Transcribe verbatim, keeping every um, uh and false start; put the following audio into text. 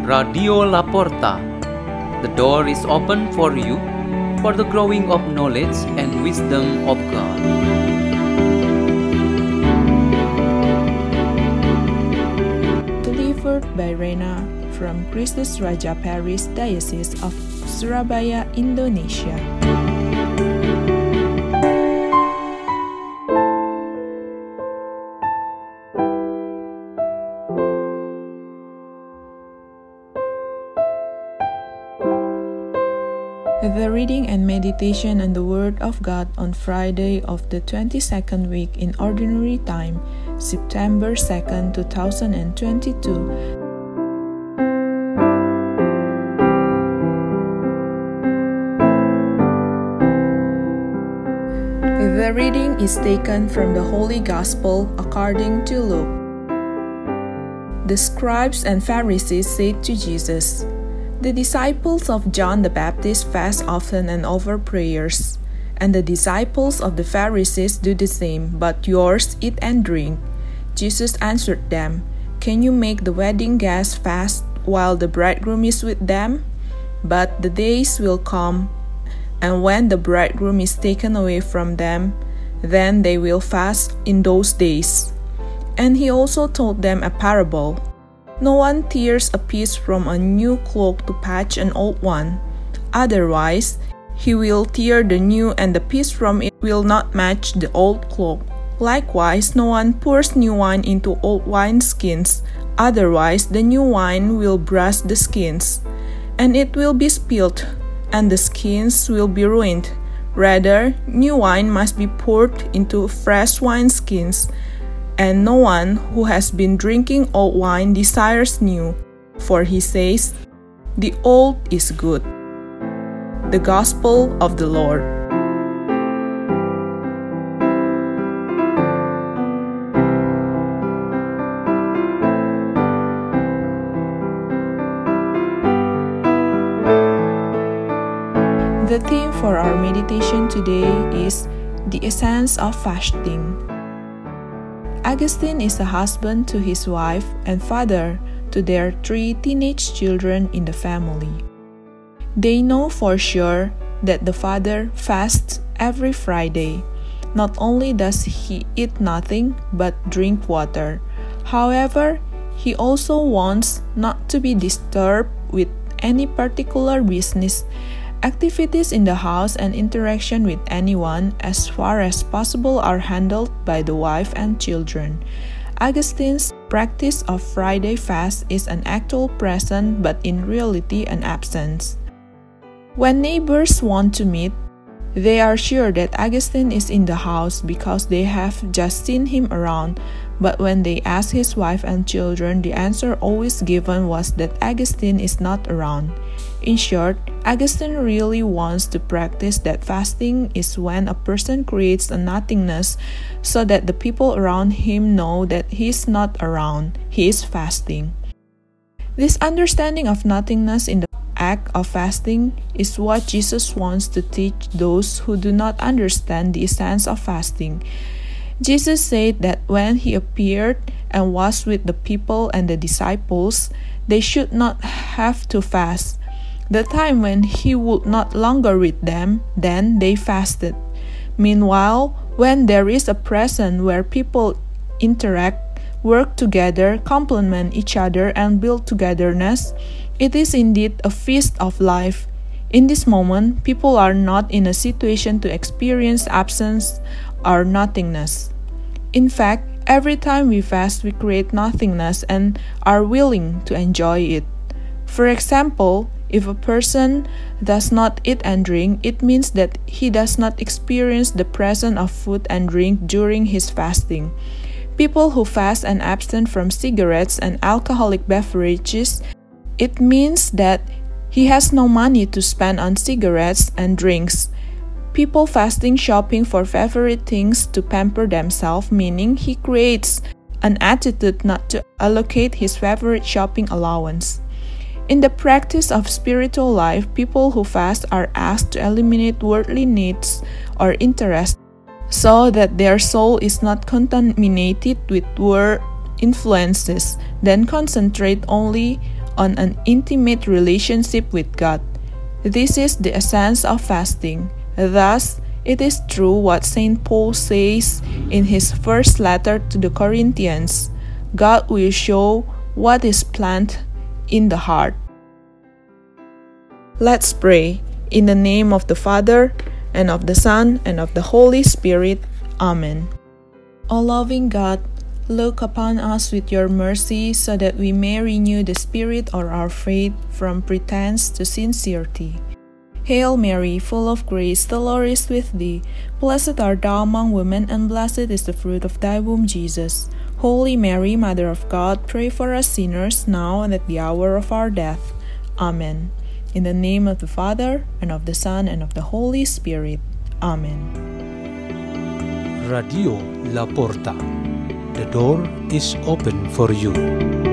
Radio Laporta. The door is open for you for the growing of knowledge and wisdom of God. Delivered by Rena from Kristus Raja Paris Diocese of Surabaya, Indonesia. The reading and meditation on the Word of God on Friday of the twenty-second week in Ordinary Time, September second, two thousand twenty-two. The reading is taken from the Holy Gospel according to Luke. The scribes and Pharisees said to Jesus, "The disciples of John the Baptist fast often and offer prayers, and the disciples of the Pharisees do the same, but yours eat and drink." Jesus answered them, "Can you make the wedding guests fast while the bridegroom is with them? But the days will come, and when the bridegroom is taken away from them, then they will fast in those days." And he also told them a parable. No one tears a piece from a new cloak to patch an old one. Otherwise, he will tear the new, and the piece from it will not match the old cloak. Likewise, no one pours new wine into old wineskins. Otherwise, the new wine will burst the skins, and it will be spilled, and the skins will be ruined. Rather, new wine must be poured into fresh wineskins. And no one who has been drinking old wine desires new, for he says, "The old is good." The Gospel of the Lord. The theme for our meditation today is the essence of fasting. Augustine is a husband to his wife and father to their three teenage children in the family. They know for sure that the father fasts every Friday. Not only does he eat nothing but drink water, however, he also wants not to be disturbed with any particular business, activities in the house, and interaction with anyone as far as possible are handled by the wife and children. Augustine's practice of Friday fast is an actual presence but in reality an absence. When neighbors want to meet, they are sure that Augustine is in the house because they have just seen him around, but when they ask his wife and children, the answer always given was that Augustine is not around. In short, Augustine really wants to practice that fasting is when a person creates a nothingness so that the people around him know that he is not around, he is fasting. This understanding of nothingness in the act of fasting is what Jesus wants to teach those who do not understand the essence of fasting. Jesus said that when he appeared and was with the people and the disciples, they should not have to fast. The time when he would not longer with them, then they fasted. Meanwhile, when there is a present where people interact, work together, complement each other, and build togetherness, it is indeed a feast of life. In this moment, people are not in a situation to experience absence or nothingness. In fact, every time we fast, we create nothingness and are willing to enjoy it. For example, if a person does not eat and drink, it means that he does not experience the presence of food and drink during his fasting. People who fast and abstain from cigarettes and alcoholic beverages, it means that he has no money to spend on cigarettes and drinks. People fasting shopping for favorite things to pamper themselves, meaning he creates an attitude not to allocate his favorite shopping allowance. In the practice of spiritual life, people who fast are asked to eliminate worldly needs or interests so that their soul is not contaminated with world influences, then concentrate only on an intimate relationship with God. This is the essence of fasting. Thus, it is true what Saint Paul says in his first letter to the Corinthians: God will show what is planted in the heart. Let's pray. In the name of the Father, and of the Son, and of the Holy Spirit. Amen. O loving God, look upon us with your mercy, so that we may renew the spirit of our faith from pretense to sincerity. Hail Mary, full of grace, the Lord is with thee. Blessed art thou among women, and blessed is the fruit of thy womb, Jesus. Holy Mary, Mother of God, pray for us sinners, now and at the hour of our death. Amen. In the name of the Father, and of the Son, and of the Holy Spirit. Amen. Radio La Porta. The door is open for you.